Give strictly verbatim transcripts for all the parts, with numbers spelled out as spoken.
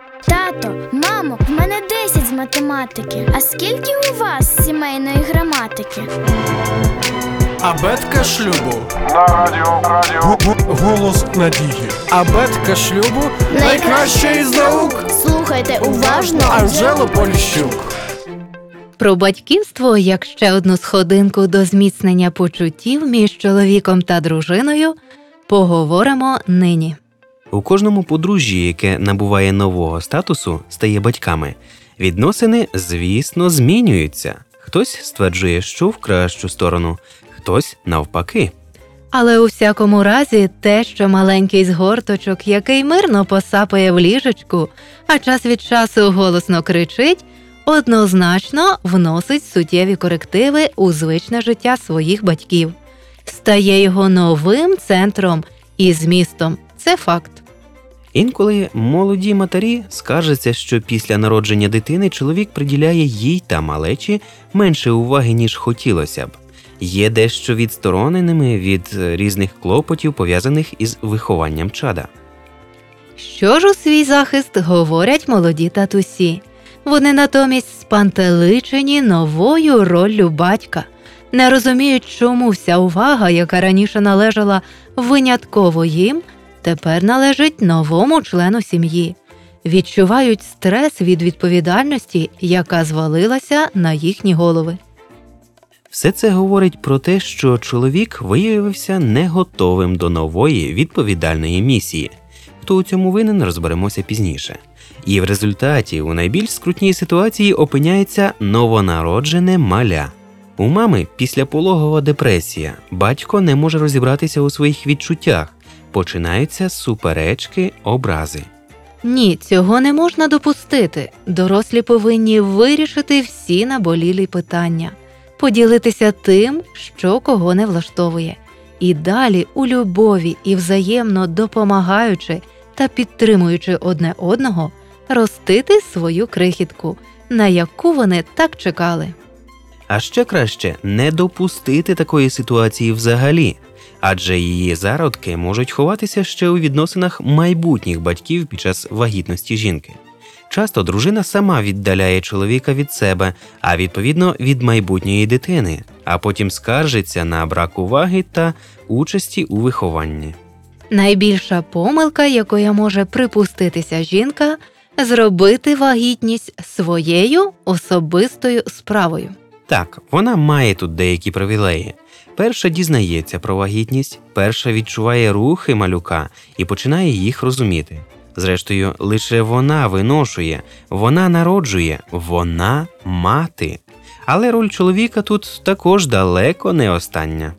Тато, мамо, в мене десять з математики. А скільки у вас сімейної граматики? Абетка шлюбу. На радіо, радіо. Голос надії. Абетка шлюбу найкраща із наук. Слухайте уважно. Анжело Поліщук. Про батьківство як ще одну сходинку до зміцнення почуттів між чоловіком та дружиною поговоримо нині. У кожному подружжі, яке набуває нового статусу, стає батьками, відносини, звісно, змінюються. Хтось стверджує, що в кращу сторону, хтось навпаки. Але у всякому разі те, що маленький згорточок, який мирно посапає в ліжечку, а час від часу голосно кричить, однозначно вносить суттєві корективи у звичне життя своїх батьків. Стає його новим центром і змістом. Це факт. Інколи молоді матері скаржаться, що після народження дитини чоловік приділяє їй та малечі менше уваги, ніж хотілося б. Є дещо відстороненими від різних клопотів, пов'язаних із вихованням чада. Що ж у свій захист говорять молоді татусі? Вони натомість спантеличені новою роллю батька. Не розуміють, чому вся увага, яка раніше належала винятково їм, тепер належить новому члену сім'ї. Відчувають стрес від відповідальності, яка звалилася на їхні голови. Все це говорить про те, що чоловік виявився не готовим до нової відповідальної місії. Хто у цьому винен, розберемося пізніше. І в результаті у найбільш скрутній ситуації опиняється новонароджене маля. У мами післяпологова депресія, батько не може розібратися у своїх відчуттях, починаються суперечки, образи. Ні, цього не можна допустити. Дорослі повинні вирішити всі наболілі питання, поділитися тим, що кого не влаштовує. І далі у любові і взаємно допомагаючи та підтримуючи одне одного, ростити свою крихітку, на яку вони так чекали. А ще краще не допустити такої ситуації взагалі, адже її зародки можуть ховатися ще у відносинах майбутніх батьків під час вагітності жінки. Часто дружина сама віддаляє чоловіка від себе, а відповідно від майбутньої дитини, а потім скаржиться на брак уваги та участі у вихованні. Найбільша помилка, якою може припуститися жінка – зробити вагітність своєю особистою справою. Так, вона має тут деякі привілеї. Перша дізнається про вагітність, перша відчуває рухи малюка і починає їх розуміти. Зрештою, лише вона виношує, вона народжує, вона мати. Але роль чоловіка тут також далеко не остання.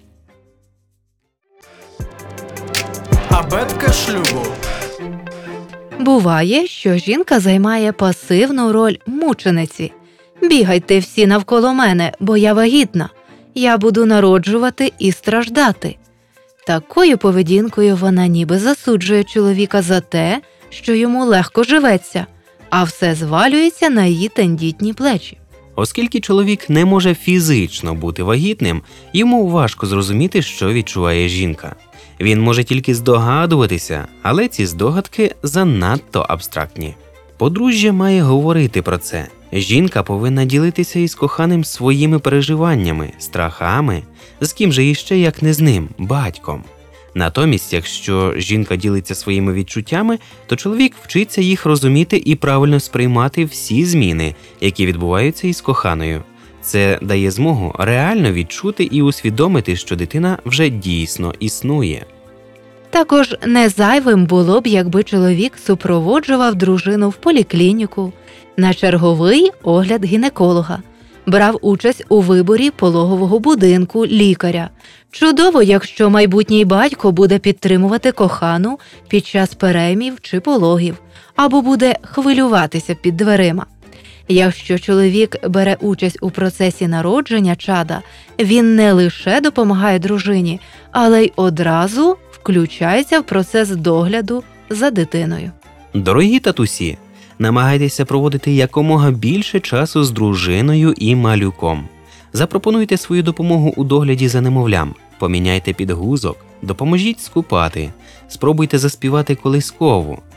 Абетка шлюбу. Буває, що жінка займає пасивну роль мучениці. «Бігайте всі навколо мене, бо я вагітна. Я буду народжувати і страждати». Такою поведінкою вона ніби засуджує чоловіка за те, що йому легко живеться, а все звалюється на її тендітні плечі. Оскільки чоловік не може фізично бути вагітним, йому важко зрозуміти, що відчуває жінка. Він може тільки здогадуватися, але ці здогадки занадто абстрактні. Подружжя має говорити про це. Жінка повинна ділитися із коханим своїми переживаннями, страхами, з ким же іще, як не з ним, батьком. Натомість, якщо жінка ділиться своїми відчуттями, то чоловік вчиться їх розуміти і правильно сприймати всі зміни, які відбуваються із коханою. Це дає змогу реально відчути і усвідомити, що дитина вже дійсно існує. Також не зайвим було б, якби чоловік супроводжував дружину в поліклініку, на черговий огляд гінеколога, брав участь у виборі пологового будинку, лікаря. Чудово, якщо майбутній батько буде підтримувати кохану під час переймів чи пологів, або буде хвилюватися під дверима. Якщо чоловік бере участь у процесі народження чада, він не лише допомагає дружині, але й одразу включається в процес догляду за дитиною. Дорогі татусі, намагайтеся проводити якомога більше часу з дружиною і малюком. Запропонуйте свою допомогу у догляді за немовлям, поміняйте підгузок, допоможіть скупати, спробуйте заспівати колискову.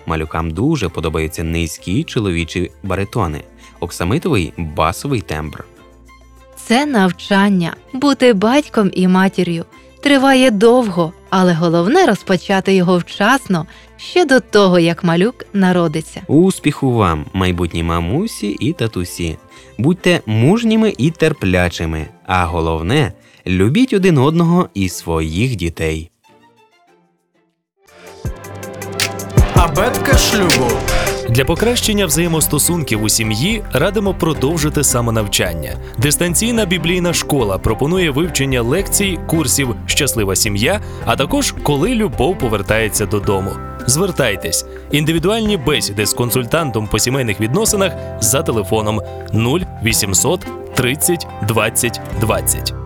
Малюкам дуже подобаються низькі чоловічі баритони, оксамитовий басовий тембр. Це навчання. Бути батьком і матір'ю триває довго, але головне розпочати його вчасно, ще до того, як малюк народиться. Успіху вам, майбутні мамусі і татусі! Будьте мужніми і терплячими, а головне – любіть один одного і своїх дітей. Абетка шлюбу. Для покращення взаємостосунків у сім'ї радимо продовжити самонавчання. Дистанційна біблійна школа пропонує вивчення лекцій, курсів «Щаслива сім'я», а також «Коли любов повертається додому». Звертайтесь. Індивідуальні бесіди з консультантом по сімейних відносинах за телефоном нуль вісімсот тридцять двадцять двадцять.